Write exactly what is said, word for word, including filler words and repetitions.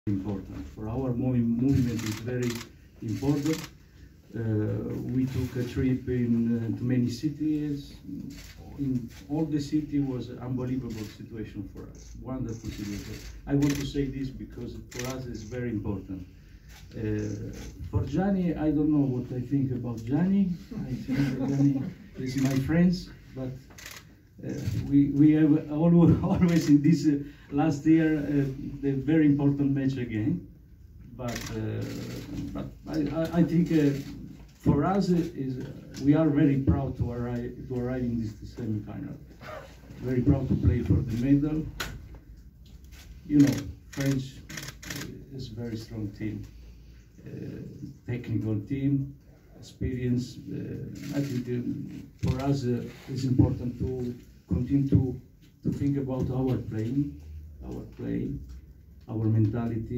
important. For our moving, movement is very important. Uh, we took a trip in uh, to many cities. In all the city was an unbelievable situation for us, wonderful situation. I want to say this because for us it's very important. Uh, for Gianni, I don't know what I think about Gianni. I think that Gianni is my friends, but uh, we we have always, always in this uh, last year uh, the very important match again. But uh, but I, I think uh, for us is uh, we are very proud to arrive to arrive in this semi-final. Very proud to play for the medal. You know, French is a very strong team. Uh, technical team, experience. Uh, I think uh, for us uh, it's important to continue to, to think about our playing, our play, our mentality.